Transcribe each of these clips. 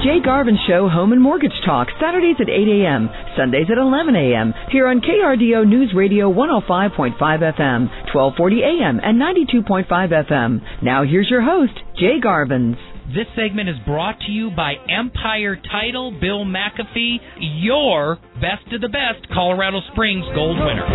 Jay Garvin Show Home and Mortgage Talk, Saturdays at 8 a.m., Sundays at 11 a.m., here on KRDO News Radio 105.5 FM, 1240 a.m., and 92.5 FM. Now here's your host, Jay Garvins. This segment is brought to you by Empire Title, Bill McAfee, your best of the best Colorado Springs Gold winner.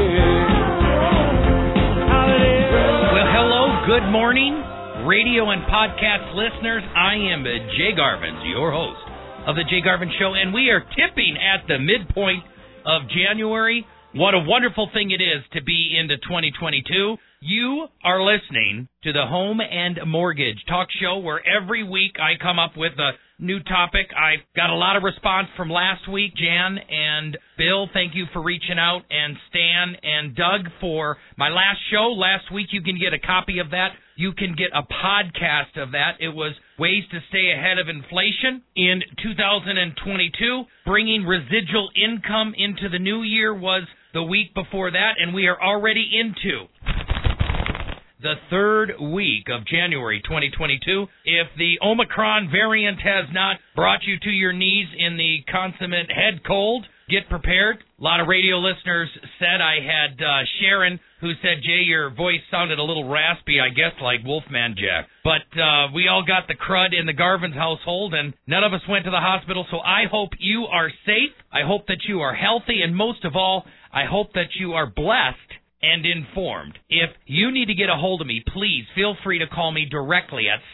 Well, hello, good morning, radio and podcast listeners. I am Jay Garvins, your host of the Jay Garvin Show, and we are tipping at the midpoint of January. What a wonderful thing it is to be into 2022. You are listening to the Home and Mortgage Talk Show, where every week I come up with a new topic. I got a lot of response from last week. Jan and Bill, thank you for reaching out, and Stan and Doug for my last show. Last week, you can get a copy of that. You can get a podcast of that. It was Ways to Stay Ahead of Inflation in 2022. Bringing residual income into the new year was the week before that, and we are already into the third week of January 2022. If the Omicron variant has not brought you to your knees in the consummate head cold, get prepared. A lot of radio listeners said, I had Sharon who said, Jay, your voice sounded a little raspy, I guess like Wolfman Jack. But we all got the crud in the Garvin's household, and none of us went to the hospital, so I hope you are safe. I hope that you are healthy, and most of all, I hope that you are blessed and informed. If you need to get a hold of me, please feel free to call me directly at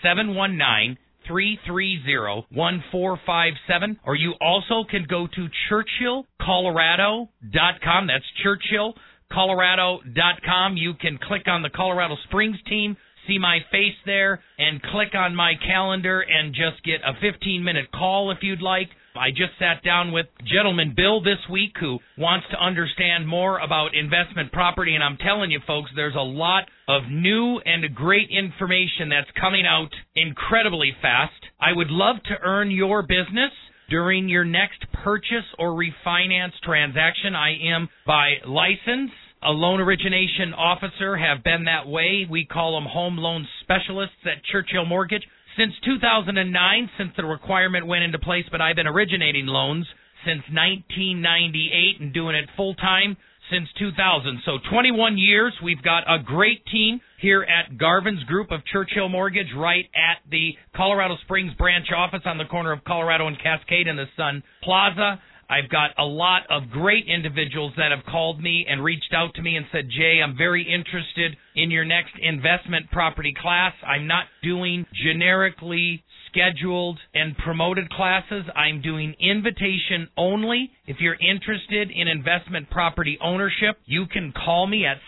719-330-1457, or you also can go to ChurchillColorado.com. That's ChurchillColorado.com. You can click on the Colorado Springs team, see my face there, and click on my calendar and just get a 15-minute call if you'd like. I just sat down with gentleman Bill this week who wants to understand more about investment property, and I'm telling you, folks, there's a lot of new and great information that's coming out incredibly fast. I would love to earn your business during your next purchase or refinance transaction. I am, by license, a loan origination officer, have been that way. We call them home loan specialists at Churchill Mortgage. Since 2009, since the requirement went into place, but I've been originating loans since 1998 and doing it full-time since 2000. So 21 years. We've got a great team here at Garvin's Group of Churchill Mortgage right at the Colorado Springs branch office on the corner of Colorado and Cascade in the Sun Plaza. I've got a lot of great individuals that have called me and reached out to me and said, Jay, I'm very interested in your next investment property class. I'm not doing generically scheduled and promoted classes. I'm doing invitation only. If you're interested in investment property ownership, you can call me at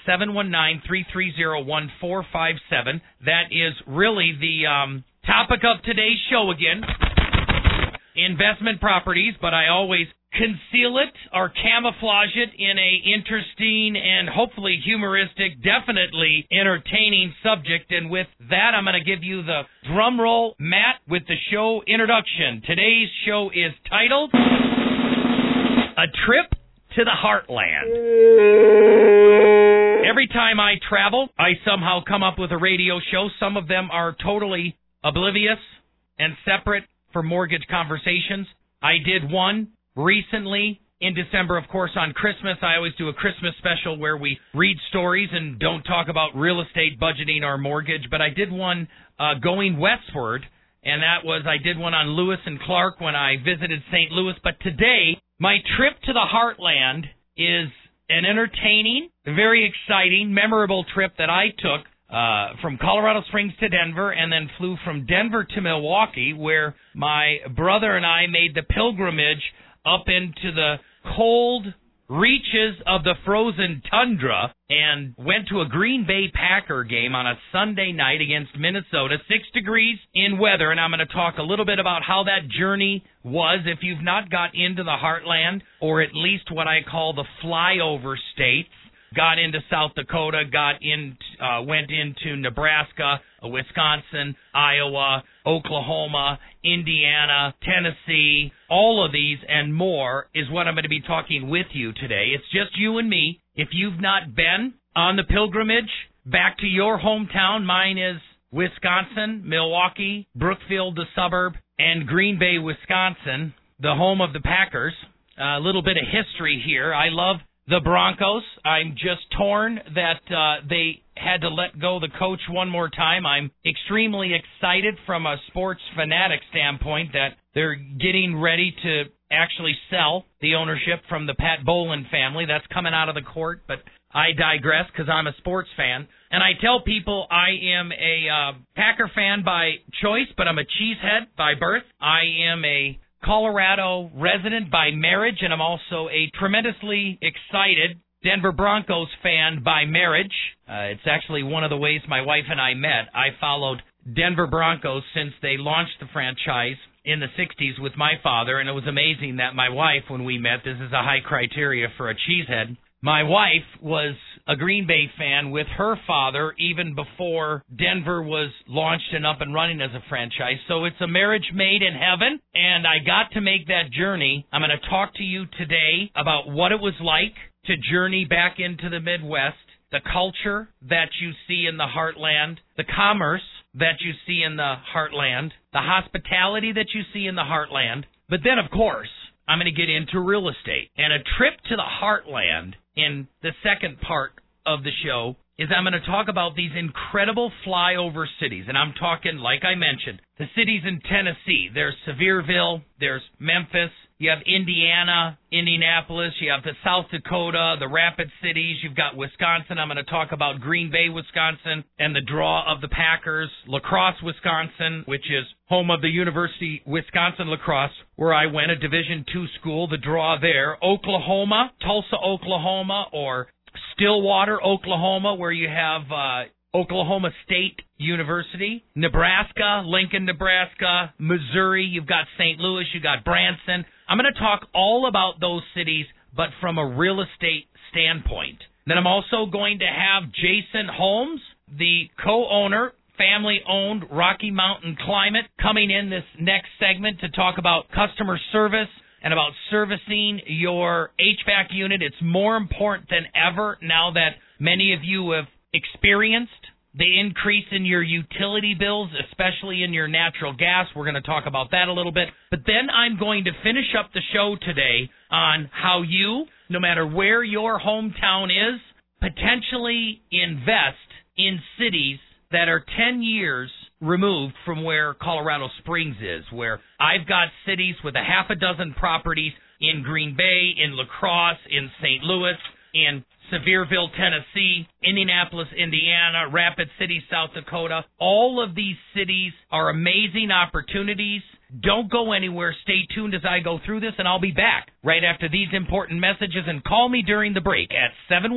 719-330-1457. That is really the topic of today's show again. Investment properties, but I always conceal it or camouflage it in a interesting and hopefully humoristic, definitely entertaining subject. And with that, I'm going to give you the drum roll, Matt, with the show introduction. Today's show is titled A Trip to the Heartland. Every time I travel, I somehow come up with a radio show. Some of them are totally oblivious and separate for mortgage conversations. I did one recently in December, of course, on Christmas. I always do a Christmas special where we read stories and don't talk about real estate budgeting or mortgage. But I did one going westward, and that was I did one on Lewis and Clark when I visited St. Louis. But today, my trip to the Heartland is an entertaining, very exciting, memorable trip that I took from Colorado Springs to Denver, and then flew from Denver to Milwaukee, where my brother and I made the pilgrimage up into the cold reaches of the frozen tundra and went to a Green Bay Packer game on a Sunday night against Minnesota, 6 degrees in weather, and I'm going to talk a little bit about how that journey was if you've not got into the Heartland, or at least what I call the flyover states. Got into South Dakota, went into Nebraska, Wisconsin, Iowa, Oklahoma, Indiana, Tennessee. All of these and more is what I'm going to be talking with you today. It's just you and me. If you've not been on the pilgrimage back to your hometown, mine is Wisconsin, Milwaukee, Brookfield, the suburb, and Green Bay, Wisconsin, the home of the Packers. A little bit of history here. I love the Broncos. I'm just torn that they had to let go the coach one more time. I'm extremely excited from a sports fanatic standpoint that they're getting ready to actually sell the ownership from the Pat Bowlen family. That's coming out of the court, but I digress because I'm a sports fan. And I tell people I am a Packer fan by choice, but I'm a cheesehead by birth. I am a Colorado resident by marriage, and I'm also a tremendously excited Denver Broncos fan by marriage. It's actually one of the ways my wife and I met. I followed Denver Broncos since they launched the franchise in the 60s with my father, and it was amazing that my wife, when we met, this is a high criteria for a cheesehead, my wife was a Green Bay fan with her father even before Denver was launched and up and running as a franchise. So it's a marriage made in heaven, and I got to make that journey. I'm going to talk to you today about what it was like to journey back into the Midwest, the culture that you see in the heartland, the commerce that you see in the heartland, the hospitality that you see in the heartland. But then, of course, I'm going to get into real estate. And a trip to the heartland in the second part of the show is I'm going to talk about these incredible flyover cities. And I'm talking, like I mentioned, the cities in Tennessee. There's Sevierville, there's Memphis, you have Indiana, Indianapolis, you have the South Dakota, the Rapid Cities, you've got Wisconsin. I'm going to talk about Green Bay, Wisconsin, and the draw of the Packers. La Crosse, Wisconsin, which is home of the University Wisconsin Lacrosse, where I went, a Division II school, the draw there. Oklahoma, Tulsa, Oklahoma, or Stillwater, Oklahoma, where you have Oklahoma State University, Nebraska, Lincoln, Nebraska, Missouri, you've got St. Louis, you've got Branson. I'm going to talk all about those cities, but from a real estate standpoint. Then I'm also going to have Jason Holmes, the co-owner, family-owned Rocky Mountain Climate, coming in this next segment to talk about customer service and about servicing your HVAC unit. It's more important than ever now that many of you have experienced the increase in your utility bills, especially in your natural gas. We're going to talk about that a little bit. But then I'm going to finish up the show today on how you, no matter where your hometown is, potentially invest in cities that are 10 years removed from where Colorado Springs is, where I've got cities with a half a dozen properties in Green Bay, in La Crosse, in St. Louis, in Sevierville, Tennessee, Indianapolis, Indiana, Rapid City, South Dakota. All of these cities are amazing opportunities. Don't go anywhere. Stay tuned as I go through this, and I'll be back right after these important messages. And call me during the break at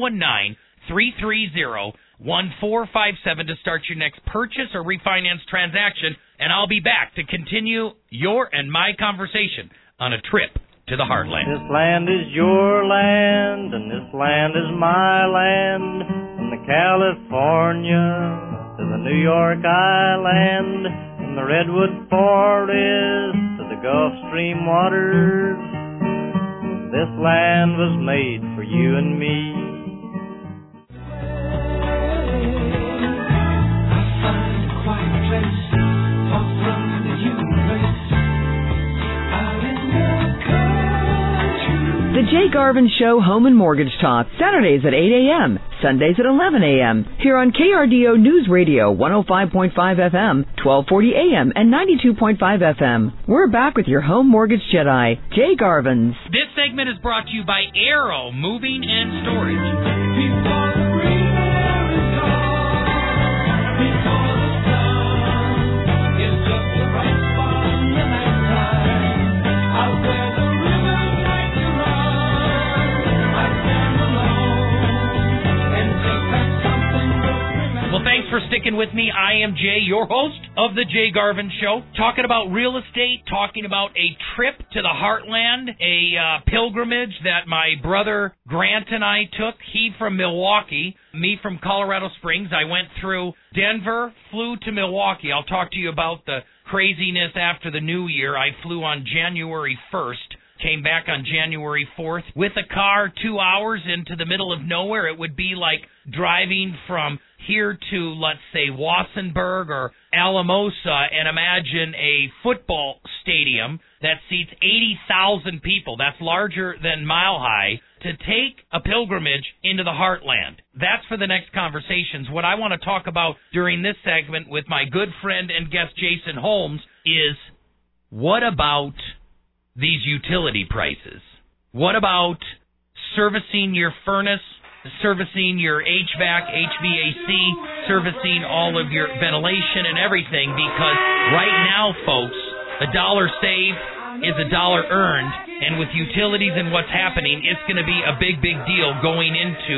719-330-1457 to start your next purchase or refinance transaction, and I'll be back to continue your and my conversation on a trip to the heartland. This land is your land, and this land is my land, from the California to the New York Island, from the Redwood Forest to the Gulf Stream waters. This land was made for you and me. The Jay Garvin Show Home and Mortgage Talk, Saturdays at 8 a.m., Sundays at 11 a.m., here on KRDO News Radio 105.5 FM, 1240 a.m., and 92.5 FM. We're back with your home mortgage Jedi, Jay Garvins. This segment is brought to you by Arrow Moving and Storage. Thanks for sticking with me. I am Jay, your host of the Jay Garvin Show, talking about real estate, talking about a trip to the heartland, a pilgrimage that my brother Grant and I took. He from Milwaukee, me from Colorado Springs. I went through Denver, flew to Milwaukee. I'll talk to you about the craziness after the new year. I flew on January 1st came back on January 4th with a car 2 hours into the middle of nowhere. It would be like driving from here to, let's say, Wassenberg or Alamosa, and imagine a football stadium that seats 80,000 people. That's larger than Mile High, to take a pilgrimage into the heartland. That's for the next conversations. What I want to talk about during this segment with my good friend and guest Jason Holmes is, what about these utility prices? What about servicing your furnace, servicing your HVAC, HVAC, servicing all of your ventilation and everything? Because right now, folks, a dollar saved is a dollar earned, and with utilities and what's happening, it's going to be a big, big deal going into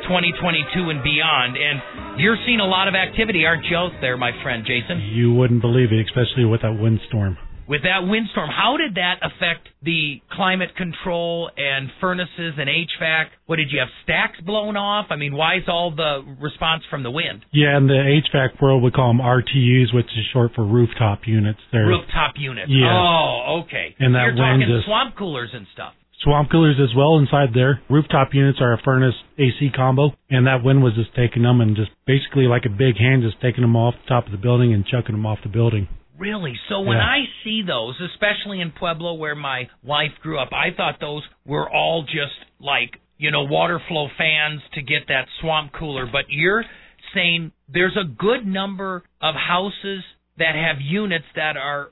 2022 and beyond. And you're seeing a lot of activity, aren't you, out there, my friend Jason? You wouldn't believe it, especially with that windstorm. With that windstorm, how did that affect the climate control and furnaces and HVAC? What, did you have stacks blown off? I mean, why is all the response from the wind? Yeah, in the HVAC world, we call them RTUs, which is short for rooftop units. Rooftop units. Yeah. Oh, okay. And that You're talking wind swamp coolers and stuff. Swamp coolers as well inside there. Rooftop units are a furnace AC combo, and that wind was just taking them and just basically like a big hand just taking them off the top of the building and chucking them off the building. Really? So when I see those, especially in Pueblo where my wife grew up, I thought those were all just like, water flow fans to get that swamp cooler. But you're saying there's a good number of houses that have units that are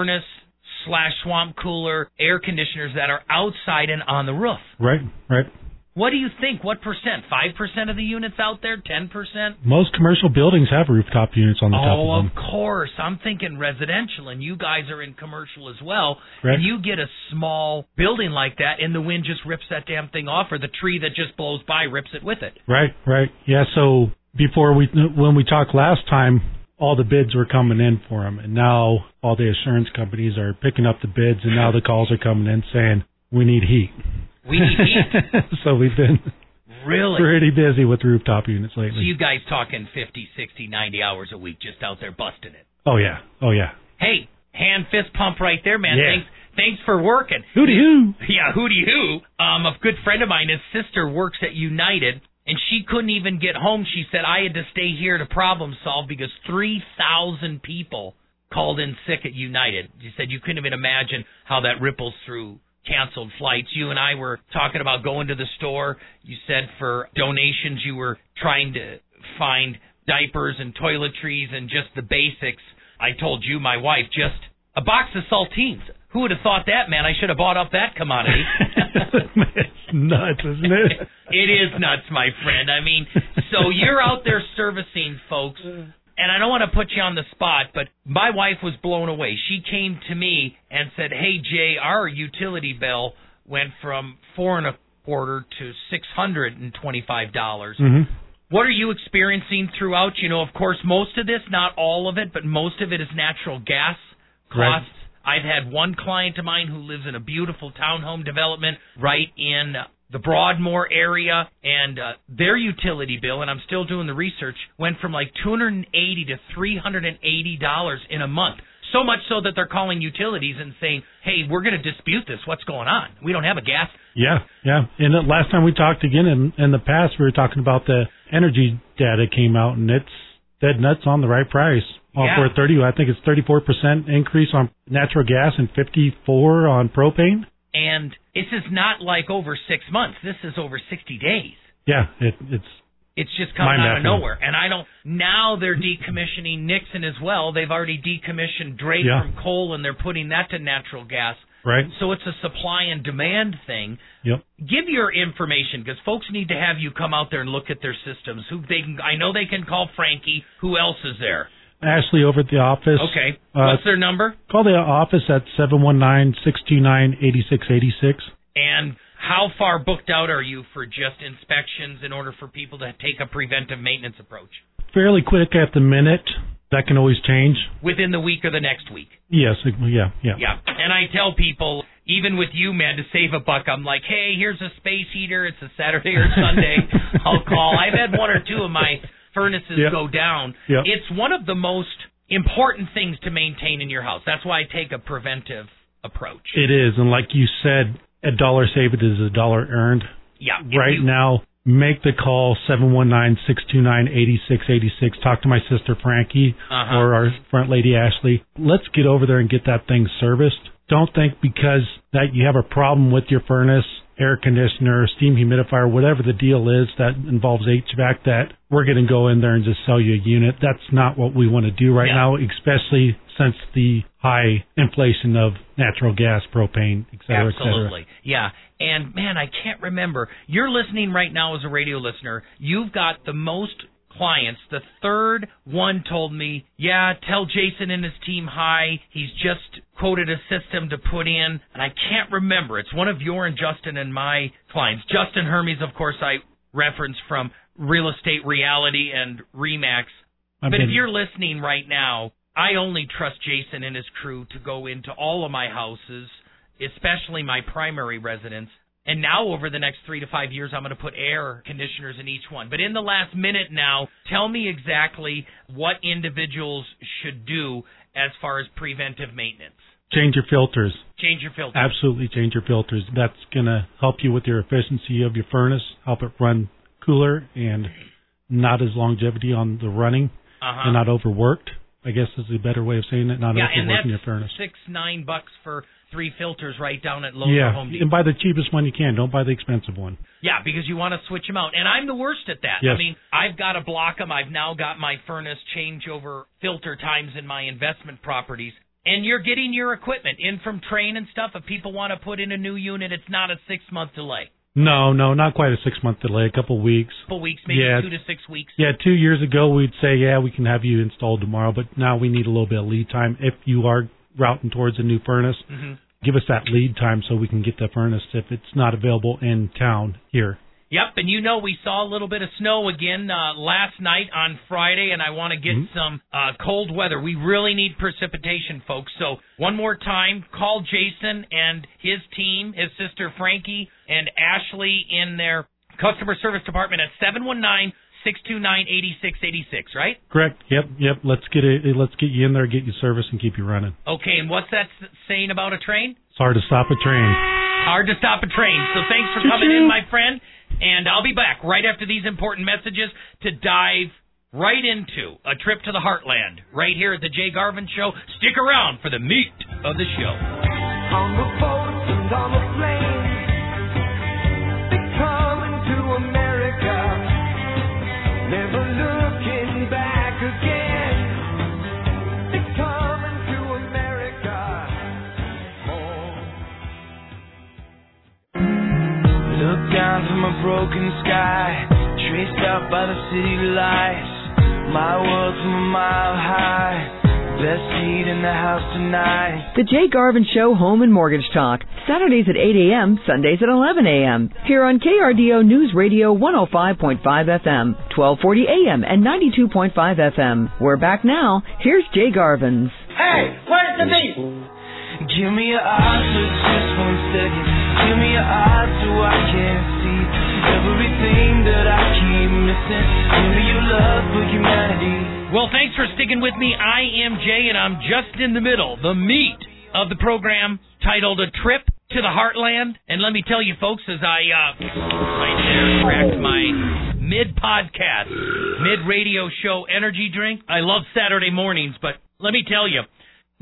furnace/swamp cooler air conditioners that are outside and on the roof. Right. What do you think? What percent? 5% of the units out there? 10%? Most commercial buildings have rooftop units on the top of them. Oh, of course. I'm thinking residential, and you guys are in commercial as well. Right. And you get a small building like that, and the wind just rips that damn thing off, or the tree that just blows by rips it with it. Right. Yeah, so when we talked last time, all the bids were coming in for them, and now all the assurance companies are picking up the bids, and now the calls are coming in saying, we need heat. We need heat. So we've been really pretty busy with rooftop units lately. So you guys talking 50, 60, 90 hours a week just out there busting it. Oh, yeah. Hey, hand fist pump right there, man. Yeah. Thanks for working. Hooty-hoo. Yeah, hooty-hoo. A good friend of mine, his sister works at United, and she couldn't even get home. She said, I had to stay here to problem solve because 3,000 people called in sick at United. She said you couldn't even imagine how that ripples through canceled flights. You and I were talking about going to the store. You said for donations you were trying to find diapers and toiletries and just the basics. I told you, my wife, just a box of saltines. Who would have thought that, man? I should have bought up that commodity. It's nuts, isn't it? It is nuts, my friend. I mean, so you're out there servicing folks. And I don't want to put you on the spot, but my wife was blown away. She came to me and said, hey, Jay, our utility bill went from $425 to $625. Mm-hmm. What are you experiencing throughout? Of course, most of this, not all of it, but most of it is natural gas costs. Right. I've had one client of mine who lives in a beautiful townhome development right in the Broadmoor area, and their utility bill, and I'm still doing the research, went from like $280 to $380 in a month. So much so that they're calling utilities and saying, hey, we're going to dispute this. What's going on? We don't have a gas. Yeah. And the last time we talked again in the past, we were talking about the energy data came out, and it's dead nuts on the right price. For 30, I think it's 34% increase on natural gas and 54% on propane. And this is not like over 6 months. This is over 60 days. Yeah, it's just coming out of nowhere. And now they're decommissioning Nixon as well. They've already decommissioned Drake from coal, and they're putting that to natural gas. Right. So it's a supply and demand thing. Yep. Give your information, because folks need to have you come out there and look at their systems. I know they can call Frankie. Who else is there? Ashley over at the office. Okay. What's their number? Call the office at 719-629-8686. And how far booked out are you for just inspections in order for people to take a preventive maintenance approach? Fairly quick at the minute. That can always change. Within the week or the next week? Yes. Yeah. And I tell people, even with you, man, to save a buck, I'm like, hey, here's a space heater. It's a Saturday or Sunday. I'll call. I've had one or two of my furnaces go down. It's one of the most important things to maintain in your house. That's why I take a preventive approach. It is, and like you said, a dollar saved is a dollar earned. Yeah. Right now, make the call, 719-629-8686. Talk to my sister Frankie or our front lady Ashley. Let's get over there and get that thing serviced. Don't think because that you have a problem with your furnace, air conditioner, steam humidifier, whatever the deal is that involves HVAC, that we're going to go in there and just sell you a unit. That's not what we want to do right now, especially since the high inflation of natural gas, propane, et cetera, Absolutely. Yeah. And, man, I can't remember. You're listening right now as a radio listener. You've got the most clients. The third one told me, yeah, tell Jason and his team hi. He's just quoted a system to put in, and I can't remember. It's one of your and Justin and my clients. Justin Hermes, of course, I reference from Real Estate Reality and RE/MAX. But if you're listening right now, I only trust Jason and his crew to go into all of my houses, especially my primary residence. And now over the next 3 to 5 years, I'm going to put air conditioners in each one. But in the last minute now, tell me exactly what individuals should do as far as preventive maintenance. Change your filters. Change your filters. Absolutely change your filters. That's going to help you with your efficiency of your furnace, help it run cooler and not as longevity on the running and not overworked. I guess is a better way of saying it, not overworking your furnace. $6-9 for 3 filters right down at Lowe's or Home Depot. And buy the cheapest one you can. Don't buy the expensive one. Yeah, because you want to switch them out. And I'm the worst at that. Yes. I mean, I've got to block them. I've now got my furnace changeover filter times in my investment properties. And you're getting your equipment in from Trane and stuff. If people want to put in a new unit, it's not a 6-month delay. No, not quite a 6-month delay, a couple of weeks. A couple weeks, maybe 2 to 6 weeks. Yeah, 2 years ago we'd say, we can have you installed tomorrow, but now we need a little bit of lead time. If you are routing towards a new furnace, give us that lead time so we can get the furnace if it's not available in town here. Yep, and we saw a little bit of snow again last night on Friday, and I want to get some cold weather. We really need precipitation, folks. So one more time, call Jason and his team, his sister Frankie and Ashley in their customer service department at 719-629-8686, right? Correct. Yep. Let's get you in there, get you serviced, and keep you running. Okay, and what's that saying about a train? It's hard to stop a train. Hard to stop a train. So thanks for coming in, my friend. And I'll be back right after these important messages to dive right into a trip to the heartland right here at the Jay Garvin Show. Stick around for the meat of the show. On the boats and on the planes, they're coming to America, never looking back again. They're coming to America. Look down from a broken sky, traced out by the city lights. My world from a mile high, best seat in the house tonight. The Jay Garvin Show Home and Mortgage Talk, Saturdays at 8 a.m., Sundays at 11 a.m. Here on KRDO News Radio 105.5 FM, 1240 a.m. and 92.5 FM. We're back now. Here's Jay Garvin's. Hey, where's the meat? Give me your eyes for just 1 second. Give me your eyes so I can see everything that I keep missing. Give me your love for humanity. Well, thanks for sticking with me. I am Jay, and I'm just in the middle, the meat of the program, titled A Trip to the Heartland. And let me tell you, folks, as I right there cracked my mid-podcast, mid-radio show energy drink. I love Saturday mornings, but let me tell you,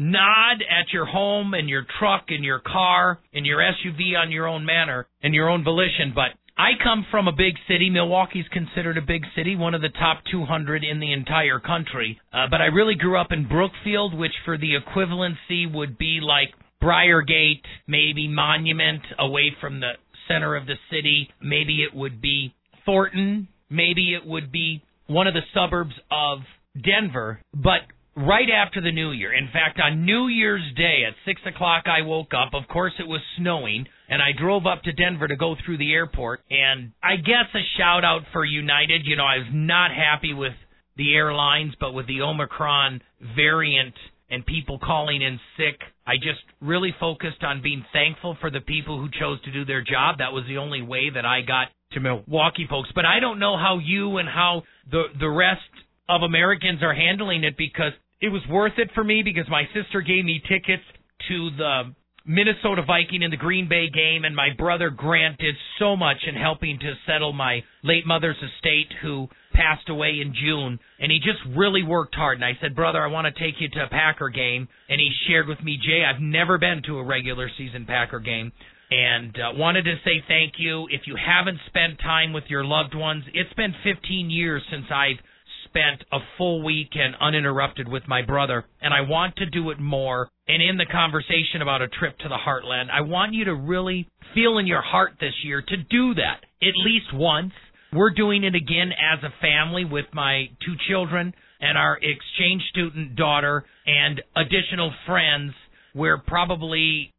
nod at your home and your truck and your car and your SUV on your own manner and your own volition. But I come from a big city. Milwaukee's considered a big city, one of the top 200 in the entire country. But I really grew up in Brookfield, which for the equivalency would be like Briargate, maybe Monument, away from the center of the city. Maybe it would be Thornton. Maybe it would be one of the suburbs of Denver. But right after the New Year. In fact, on New Year's Day at 6 o'clock, I woke up. Of course, it was snowing, and I drove up to Denver to go through the airport. And I guess a shout-out for United. You know, I was not happy with the airlines, but with the Omicron variant and people calling in sick, I just really focused on being thankful for the people who chose to do their job. That was the only way that I got to Milwaukee, folks. But I don't know how you and how the rest of Americans are handling it, because it was worth it for me, because my sister gave me tickets to the Minnesota Viking in the Green Bay game, and my brother Grant did so much in helping to settle my late mother's estate, who passed away in June, and he just really worked hard. And I said, brother, I want to take you to a Packer game, and he shared with me, Jay, I've never been to a regular season Packer game, and wanted to say thank you. If you haven't spent time with your loved ones, it's been 15 years since I've spent a full weekend uninterrupted with my brother, and I want to do it more. And in the conversation about a trip to the Heartland, I want you to really feel in your heart this year to do that at least once. We're doing it again as a family with my 2 children and our exchange student daughter and additional friends. We're probably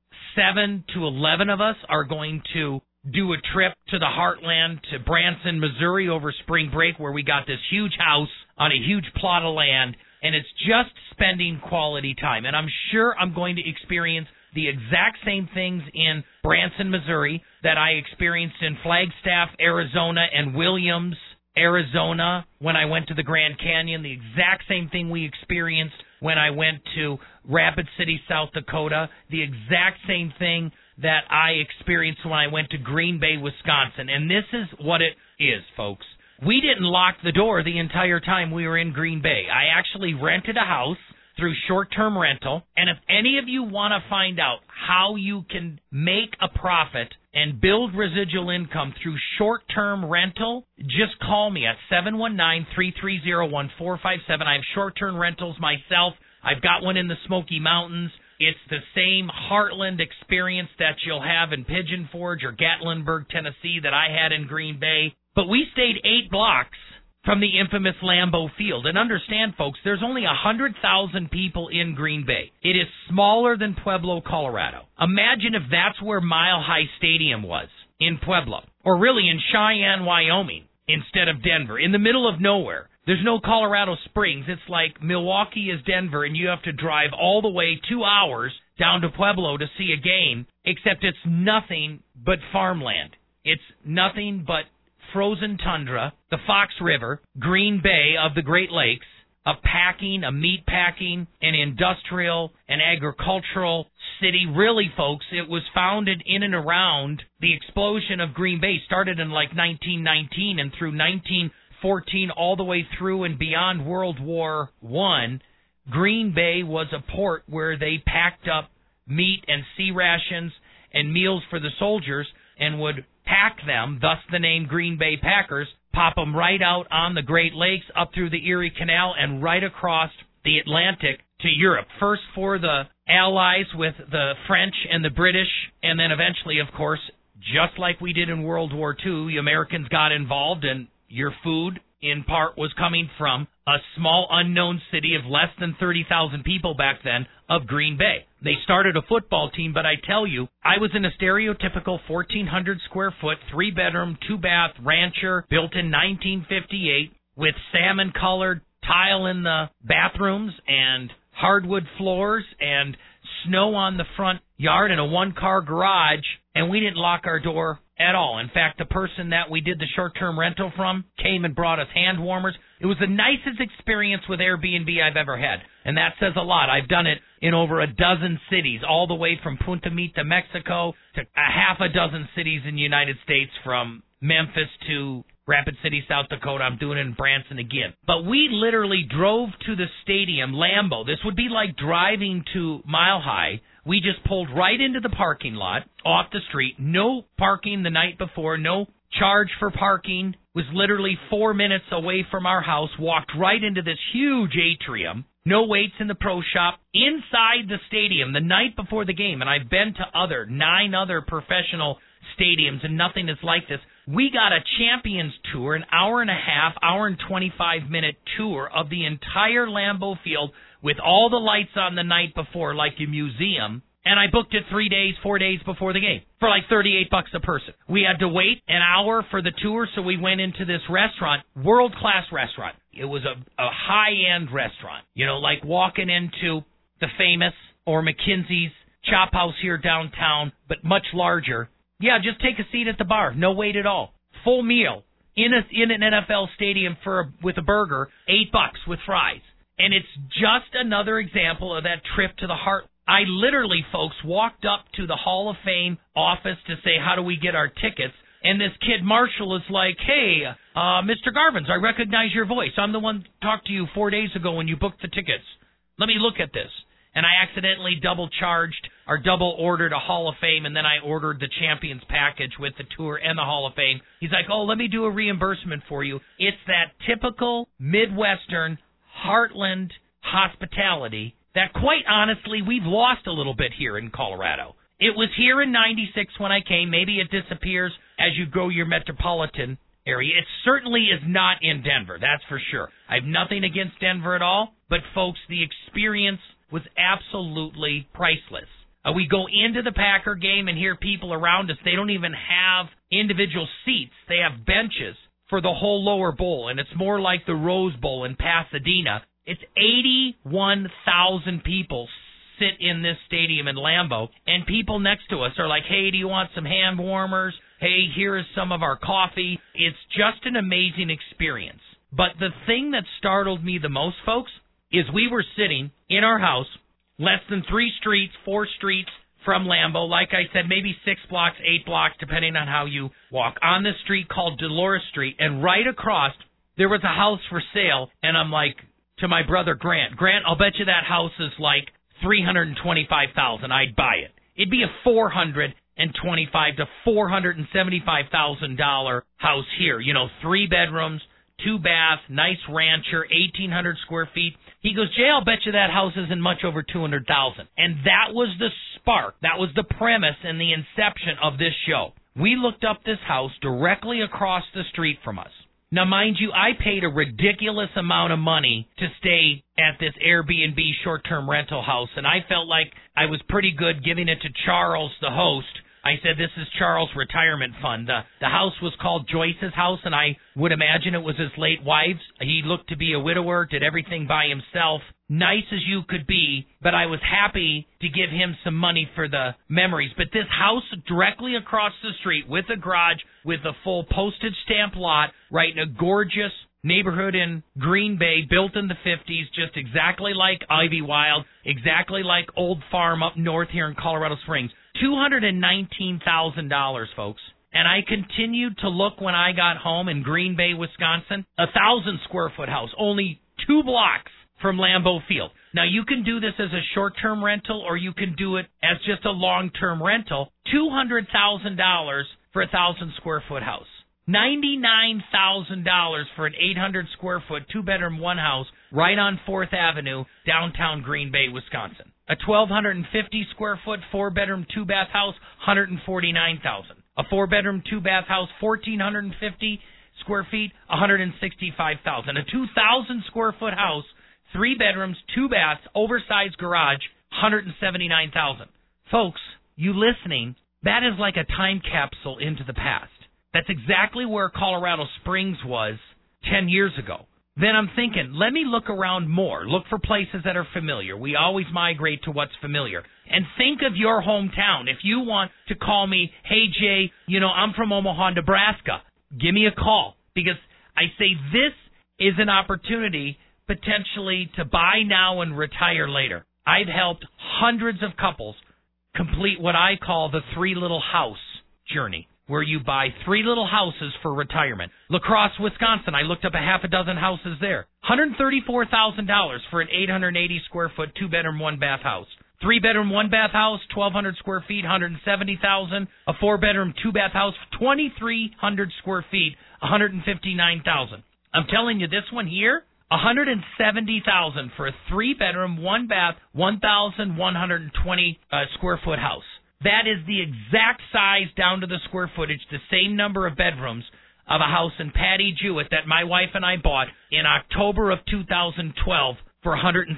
7 to 11 of us are going to do a trip to the Heartland, to Branson, Missouri over spring break, where we got this huge house on a huge plot of land, and it's just spending quality time. And I'm sure I'm going to experience the exact same things in Branson, Missouri that I experienced in Flagstaff, Arizona, and Williams, Arizona when I went to the Grand Canyon, the exact same thing we experienced when I went to Rapid City, South Dakota, the exact same thing that I experienced when I went to Green Bay, Wisconsin. And this is what it is, folks. We didn't lock the door the entire time we were in Green Bay. I actually rented a house through short-term rental, and if any of you want to find out how you can make a profit and build residual income through short-term rental, just call me at 719-330-1457. I have short-term rentals myself. I've got one in the Smoky Mountains. It's the same Heartland experience that you'll have in Pigeon Forge or Gatlinburg, Tennessee that I had in Green Bay. But we stayed 8 blocks from the infamous Lambeau Field. And understand, folks, there's only 100,000 people in Green Bay. It is smaller than Pueblo, Colorado. Imagine if that's where Mile High Stadium was, in Pueblo. Or really in Cheyenne, Wyoming, instead of Denver, in the middle of nowhere. There's no Colorado Springs. It's like Milwaukee is Denver, and you have to drive all the way 2 hours down to Pueblo to see a game, except it's nothing but farmland. It's nothing but frozen tundra, the Fox River, Green Bay of the Great Lakes, a meat packing, an industrial, an agricultural city. Really, folks, it was founded in and around the explosion of Green Bay, started in like 1919, and through 1914 all the way through and beyond World War I, Green Bay was a port where they packed up meat and sea rations and meals for the soldiers and would pack them, thus the name Green Bay Packers, pop them right out on the Great Lakes, up through the Erie Canal, and right across the Atlantic to Europe. First for the Allies with the French and the British, and then eventually, of course, just like we did in World War II, the Americans got involved, and your food, in part, was coming from a small unknown city of less than 30,000 people back then of Green Bay. They started a football team, but I tell you, I was in a stereotypical 1,400 square foot, 3-bedroom, 2-bath rancher built in 1958 with salmon-colored tile in the bathrooms and hardwood floors and snow on the front yard and a 1-car garage, and we didn't lock our door at all. In fact, the person that we did the short-term rental from came and brought us hand warmers. It was the nicest experience with Airbnb I've ever had, and that says a lot. I've done it in over a dozen cities, all the way from Punta Mita, Mexico, to a half a dozen cities in the United States, from Memphis to Rapid City, South Dakota. I'm doing it in Branson again. But we literally drove to the stadium, Lambeau. This would be like driving to Mile High. We just pulled right into the parking lot, off the street. No parking the night before, no charge for parking. Was literally 4 minutes away from our house, walked right into this huge atrium. No waits in the pro shop. Inside the stadium the night before the game, and I've been to 9 other professional stadiums, and nothing is like this. We got a Champions Tour, an hour and 25-minute tour of the entire Lambeau Field with all the lights on the night before, like a museum. And I booked it 4 days before the game for like $38 a person. We had to wait an hour for the tour, so we went into this restaurant, world-class restaurant. It was a high-end restaurant, like walking into the Famous or McKinsey's Chop House here downtown, but much larger. Yeah, just take a seat at the bar. No wait at all. Full meal in an NFL stadium with a burger, $8 with fries. And it's just another example of that trip to the I literally, folks, walked up to the Hall of Fame office to say, how do we get our tickets? And this kid, Marshall, is like, hey, Mr. Garvins, I recognize your voice. I'm the one who talked to you 4 days ago when you booked the tickets. Let me look at this. And I accidentally double ordered a Hall of Fame, and then I ordered the Champions package with the tour and the Hall of Fame. He's like, oh, let me do a reimbursement for you. It's that typical Midwestern heartland hospitality that, quite honestly, we've lost a little bit here in Colorado. It was here in 96 when I came. Maybe it disappears as you go your metropolitan area. It certainly is not in Denver, that's for sure. I have nothing against Denver at all, but, folks, the experience was absolutely priceless. We go into the Packer game and hear people around us. They don't even have individual seats. They have benches for the whole lower bowl, and it's more like the Rose Bowl in Pasadena. It's 81,000 people sit in this stadium in Lambeau, and people next to us are like, hey, do you want some hand warmers? Hey, here is some of our coffee. It's just an amazing experience. But the thing that startled me the most, folks, is we were sitting in our house less than 4 streets from Lambeau. Like I said, maybe 6 blocks, 8 blocks, depending on how you walk, on this street called Dolores Street. And right across, there was a house for sale. And I'm like to my brother, Grant, I'll bet you that house is like $325,000. I'd buy it. It'd be a $425,000 to $475,000 house here. 3 bedrooms, 2 baths, nice rancher, 1,800 square feet. He goes, Jay, I'll bet you that house isn't much over $200,000. And that was the spark. That was the premise and the inception of this show. We looked up this house directly across the street from us. Now, mind you, I paid a ridiculous amount of money to stay at this Airbnb short-term rental house, and I felt like I was pretty good giving it to Charles, the host. I said, this is Charles' retirement fund. The house was called Joyce's house, and I would imagine it was his late wife's. He looked to be a widower, did everything by himself. Nice as you could be, but I was happy to give him some money for the memories. But this house directly across the street with a garage, with a full postage stamp lot, right in a gorgeous neighborhood in Green Bay, built in the 50s, just exactly like Ivywild, exactly like Old Farm up north here in Colorado Springs. $219,000, folks. And I continued to look when I got home in Green Bay, Wisconsin, 1,000 square foot house, only 2 blocks from Lambeau Field. Now, you can do this as a short-term rental, or you can do it as just a long-term rental. $200,000 for a 1,000 square foot house. $99,000 for an 800 square foot, 2-bedroom, 1 house right on 4th Avenue, downtown Green Bay, Wisconsin. A 1,250 square foot, 4-bedroom, 2-bath house, $149,000. A 4-bedroom, 2-bath house, 1,450 square feet, $165,000. A 2,000 square foot house, 3 bedrooms, 2 baths, oversized garage, $179,000. Folks, you listening, that is like a time capsule into the past. That's exactly where Colorado Springs was 10 years ago. Then I'm thinking, let me look around more. Look for places that are familiar. We always migrate to what's familiar. And think of your hometown. If you want to call me, hey, Jay, I'm from Omaha, Nebraska, give me a call. Because I say this is an opportunity potentially to buy now and retire later. I've helped hundreds of couples complete what I call the 3 little house journey, where you buy 3 little houses for retirement. La Crosse, Wisconsin, I looked up a half a dozen houses there. $134,000 for an 880 square foot, 2-bedroom, 1-bath house. 3-bedroom, 1-bath house, 1,200 square feet, $170,000. A 4-bedroom, 2-bath house, 2,300 square feet, $159,000. I'm telling you, this one here, $170,000 for a 3-bedroom, 1-bath, 1,120 square foot house. That is the exact size down to the square footage, the same number of bedrooms of a house in Patty Jewett that my wife and I bought in October of 2012 for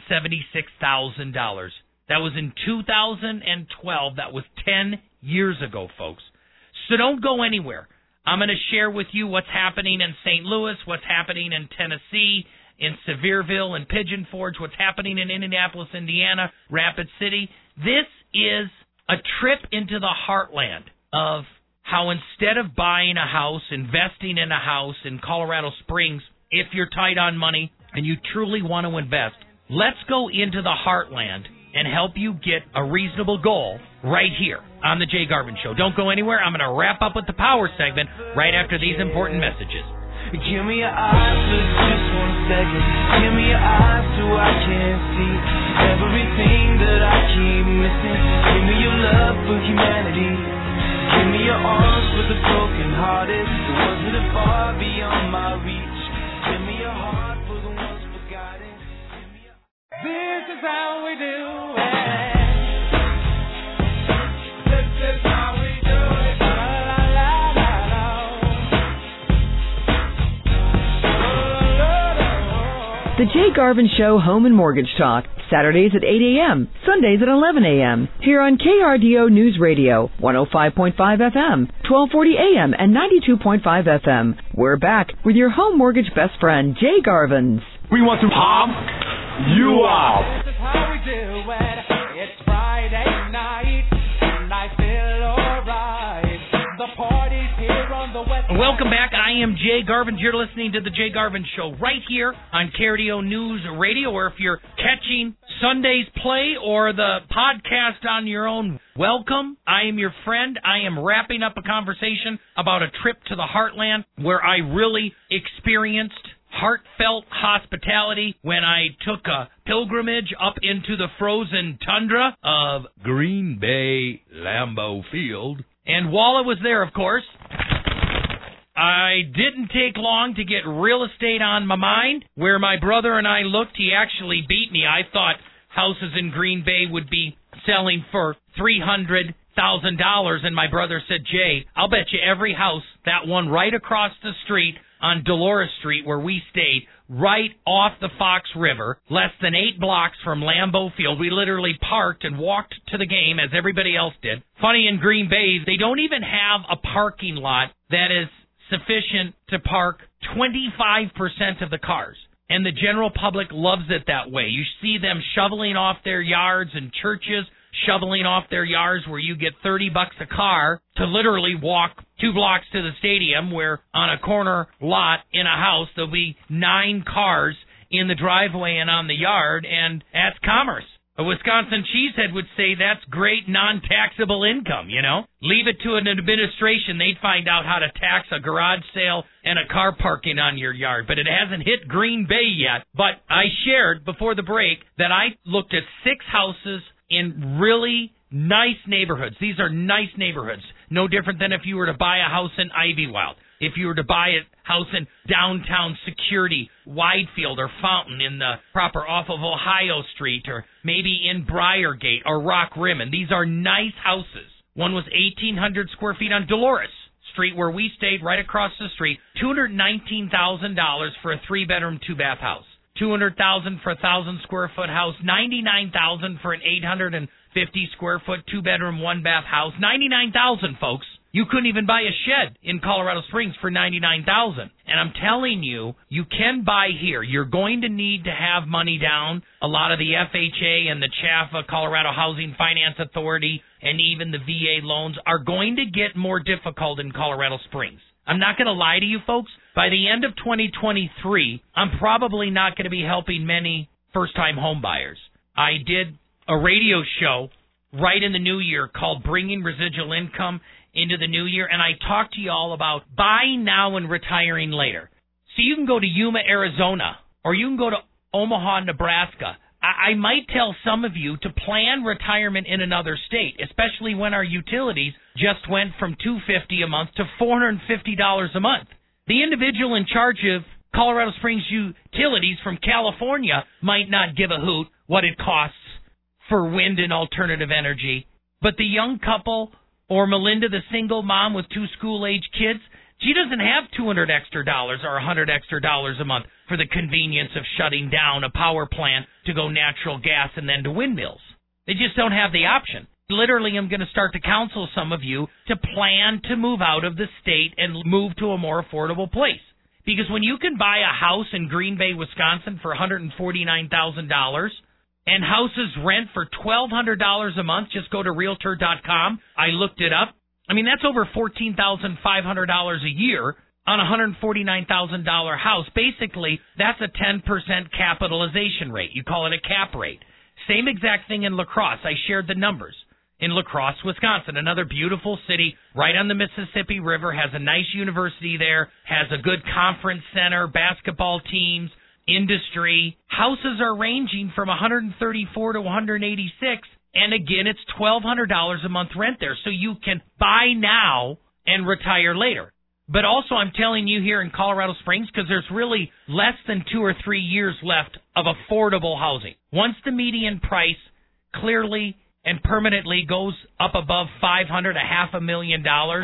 $176,000. That was in 2012. That was 10 years ago, folks. So don't go anywhere. I'm going to share with you what's happening in St. Louis, what's happening in Tennessee, in Sevierville and Pigeon Forge, what's happening in Indianapolis, Indiana, Rapid City. This is a trip into the heartland of how instead of buying a house, investing in a house in Colorado Springs, if you're tight on money and you truly want to invest, let's go into the heartland and help you get a reasonable goal right here on The Jay Garvin Show. Don't go anywhere. I'm going to wrap up with the power segment right after these important messages. Give me your eyes for just 1 second. Give me your eyes so I can see everything that I keep missing. Give me your love for humanity. Give me your arms for the broken-hearted, the ones that are far beyond my reach. Give me your heart for the ones forgotten. This is how we do it. This is how we do it. La, la, la, la, la. The Jay Garvin Show Home and Mortgage Talk, Saturdays at 8 a.m., Sundays at 11 a.m., here on KRDO News Radio, 105.5 FM, 1240 a.m., and 92.5 FM. We're back with your home mortgage best friend, Jay Garvins. We want to pump you up. This is how we do it. It's Friday night, and I feel alright. The party's here on the West. Welcome back. I am Jay Garvin. You're listening to The Jay Garvin Show right here on KRDO News Radio, or if you're catching Sunday's play or the podcast on your own, welcome. I am your friend. I am wrapping up a conversation about a trip to the Heartland where I really experienced heartfelt hospitality when I took a pilgrimage up into the frozen tundra of Green Bay Lambeau Field. And while I was there, of course, I didn't take long to get real estate on my mind. Where my brother and I looked, he actually beat me. I thought houses in Green Bay would be selling for $300,000, and my brother said, Jay, I'll bet you every house, that one right across the street on Dolores Street where we stayed, right off the Fox River, less than 8 blocks from Lambeau Field. We literally parked and walked to the game as everybody else did. Funny, in Green Bay, they don't even have a parking lot that is sufficient to park 25% of the cars. And the general public loves it that way. You see them shoveling off their yards, and churches shoveling off their yards where you get $30 a car to literally walk 2 blocks to the stadium, where on a corner lot in a house there'll be 9 cars in the driveway and on the yard, and that's commerce. A Wisconsin cheesehead would say that's great non-taxable income, you know? Leave it to an administration. They'd find out how to tax a garage sale and a car parking on your yard. But it hasn't hit Green Bay yet. But I shared before the break that I looked at 6 houses in really nice neighborhoods. These are nice neighborhoods. No different than if you were to buy a house in Ivywild. If you were to buy a house in downtown Security, Widefield, or Fountain in the proper off of Ohio Street, or maybe in Briargate or Rock Rimmon. These are nice houses. One was 1,800 square feet on Dolores Street, where we stayed right across the street. $219,000 for a 3-bedroom, 2-bath house. $200,000 for a 1,000 square foot house. $99,000 for an 850 square foot 2-bedroom, 1-bath house. $99,000, folks. You couldn't even buy a shed in Colorado Springs for $99,000. And I'm telling you, you can buy here. You're going to need to have money down. A lot of the FHA and the CHFA, Colorado Housing Finance Authority, and even the VA loans are going to get more difficult in Colorado Springs. I'm not going to lie to you folks. By the end of 2023, I'm probably not going to be helping many first-time home buyers. I did a radio show right in the new year called Bringing Residual Income into the New Year, and I talked to you all about buying now and retiring later. So you can go to Yuma, Arizona, or you can go to Omaha, Nebraska. I might tell some of you to plan retirement in another state, especially when our utilities just went from $250 a month to $450 a month. The individual in charge of Colorado Springs Utilities from California might not give a hoot what it costs for wind and alternative energy, but the young couple or Melinda, the single mom with 2 school-age kids, she doesn't have $200 extra or $100 extra a month for the convenience of shutting down a power plant to go natural gas and then to windmills. They just don't have the option. Literally, I'm going to start to counsel some of you to plan to move out of the state and move to a more affordable place. Because when you can buy a house in Green Bay, Wisconsin for $149,000, and houses rent for $1,200 a month, just go to Realtor.com. I looked it up. I mean, that's over $14,500 a year on a $149,000 house. Basically, that's a 10% capitalization rate. You call it a cap rate. Same exact thing in La Crosse. I shared the numbers. In La Crosse, Wisconsin, another beautiful city right on the Mississippi River, has a nice university there, has a good conference center, basketball teams, industry. Houses are ranging from $134 to $186, and again, it's $1,200 a month rent there. So you can buy now and retire later. But also, I'm telling you here in Colorado Springs, because there's really less than 2 or 3 years left of affordable housing. Once the median price clearly and permanently goes up above $500,000, $500,000,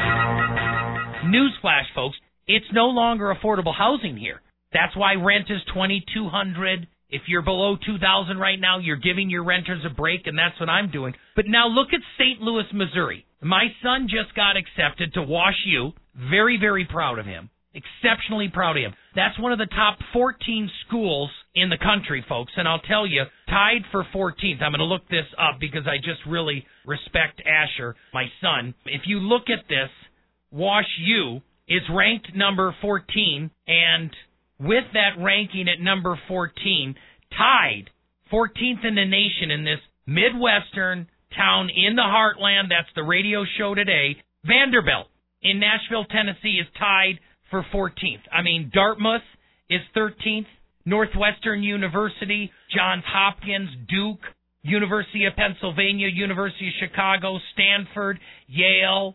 newsflash, folks, it's no longer affordable housing here. That's why rent is $2,200. If you're below $2,000 right now, you're giving your renters a break, and that's what I'm doing. But now look at St. Louis, Missouri. My son just got accepted to Wash U. Very, very proud of him. Exceptionally proud of him. That's one of the top 14 schools in the country, folks. And I'll tell you, tied for 14th. I'm going to look this up because I just really respect Asher, my son. If you look at this, Wash U is ranked number 14. And with that ranking at number 14, tied 14th in the nation in this Midwestern town in the heartland, that's the radio show today, Vanderbilt in Nashville, Tennessee is tied for 14th. I mean, Dartmouth is 13th, Northwestern University, Johns Hopkins, Duke, University of Pennsylvania, University of Chicago, Stanford, Yale,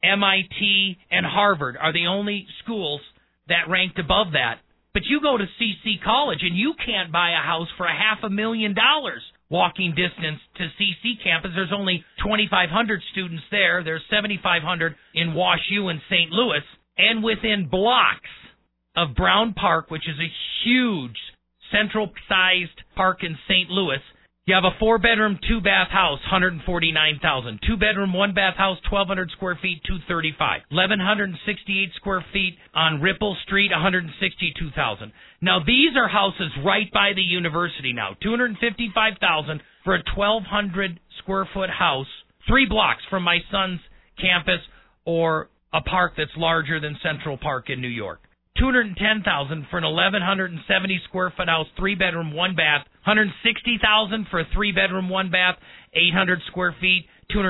MIT, and Harvard are the only schools that ranked above that. But you go to CC College and you can't buy a house for $500,000 walking distance to CC campus. There's only 2,500 students there. There's 7,500 in Wash U in St. Louis. And within blocks of Brown Park, which is a huge central-sized park in St. Louis, you have a 4-bedroom, 2-bath house, $149,000. 2-bedroom, 1-bath house, 1,200 square feet, $235,000. 1,168 square feet on Ripple Street, $162,000. Now, these are houses right by the university now. $255,000 for a 1,200 square foot house, 3 blocks from my son's campus or a park that's larger than Central Park in New York. $210,000 for an 1,170 square foot house, 3-bedroom, 1-bath. $160,000 for a 3-bedroom, 1-bath, 800 square feet.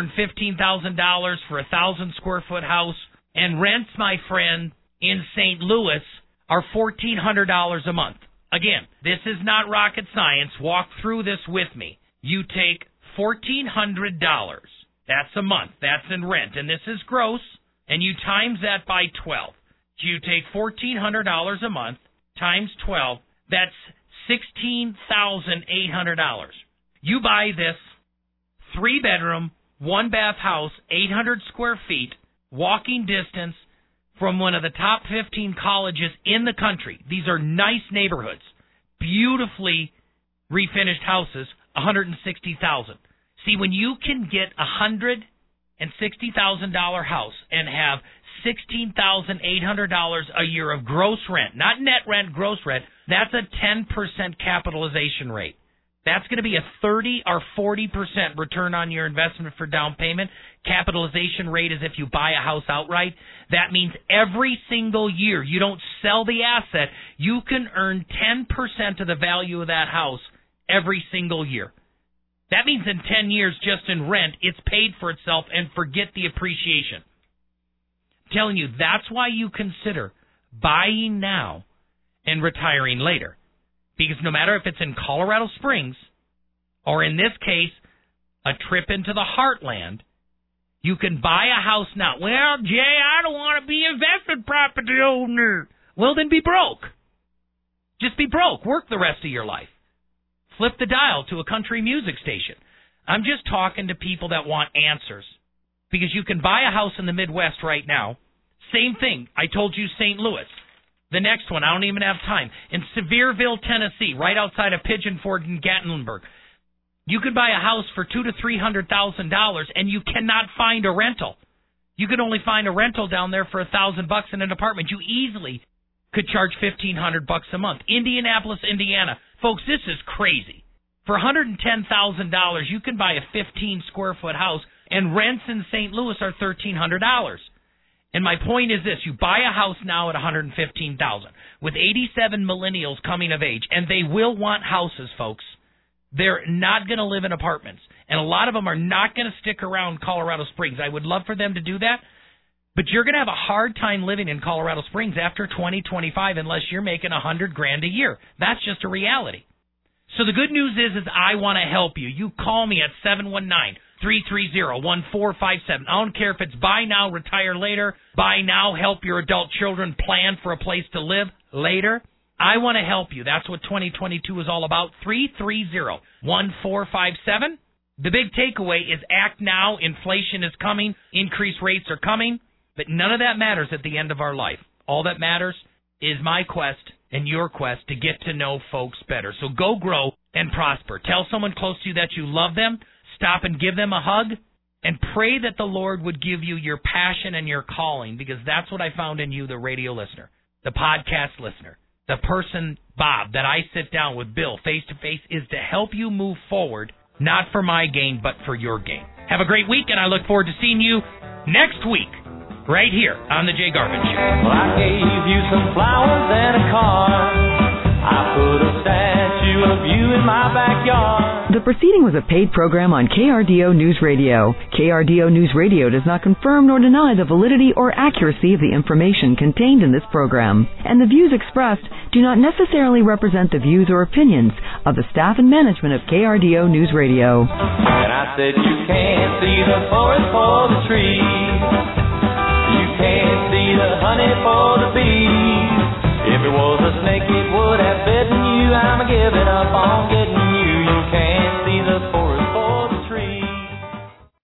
$215,000 for a 1,000 square foot house. And rents, my friend, in St. Louis are $1,400 a month. Again, this is not rocket science. Walk through this with me. You take $1,400. That's a month. That's in rent. And this is gross. And you times that by 12. You take $1,400 a month times 12. That's $16,800. You buy this 3-bedroom, 1-bath house, 800 square feet, walking distance from one of the top 15 colleges in the country. These are nice neighborhoods, beautifully refinished houses, $160,000. See, when you can get $160,000 house and have $16,800 a year of gross rent, not net rent, gross rent, that's a 10% capitalization rate. That's going to be a 30 or 40% return on your investment for down payment. Capitalization rate is if you buy a house outright. That means every single year you don't sell the asset, you can earn 10% of the value of that house every single year. That means in 10 years just in rent, it's paid for itself and forget the appreciation. I'm telling you, that's why you consider buying now and retiring later. Because no matter if it's in Colorado Springs or in this case, a trip into the heartland, you can buy a house now. Well, Jay, I don't want to be investment property owner. Well, then be broke. Just be broke. Work the rest of your life. Flip the dial to a country music station. I'm just talking to people that want answers. Because you can buy a house in the Midwest right now. Same thing. I told you St. Louis. The next one, I don't even have time. In Sevierville, Tennessee, right outside of Pigeon Forge and Gatlinburg, you could buy a house for $200,000 to $300,000, and you cannot find a rental. You could only find a rental down there for $1,000 in an apartment. You easily could charge $1,500 a month. Indianapolis, Indiana, folks, this is crazy. For $110,000, you can buy a 15 square foot house, and rents in St. Louis are $1,300. And my point is this, you buy a house now at $115,000 with 87 millennials coming of age, and they will want houses, folks. They're not going to live in apartments. And a lot of them are not going to stick around Colorado Springs. I would love for them to do that. But you're going to have a hard time living in Colorado Springs after 2025 unless you're making $100,000 a year. That's just a reality. So the good news is I want to help you. You call me at 719-330-1457. I don't care if it's buy now, retire later, buy now, help your adult children plan for a place to live later. I want to help you. That's what 2022 is all about. 330-1457. The big takeaway is act now. Inflation is coming. Increased rates are coming. But none of that matters at the end of our life. All that matters is my quest and your quest to get to know folks better. So go grow and prosper. Tell someone close to you that you love them. Stop and give them a hug. And pray that the Lord would give you your passion and your calling, because that's what I found in you, the radio listener, the podcast listener, the person, Bob, that I sit down with Bill face-to-face, is to help you move forward, not for my gain, but for your gain. Have a great week, and I look forward to seeing you next week, right here on The Jay Garvin Show. Well, I gave you some flowers and a card. I put a statue of you in my backyard. The proceeding was a paid program on KRDO News Radio. KRDO News Radio does not confirm nor deny the validity or accuracy of the information contained in this program, and the views expressed do not necessarily represent the views or opinions of the staff and management of KRDO News Radio. And I said, you can't see the forest for the trees. You can't see the honey for the bees.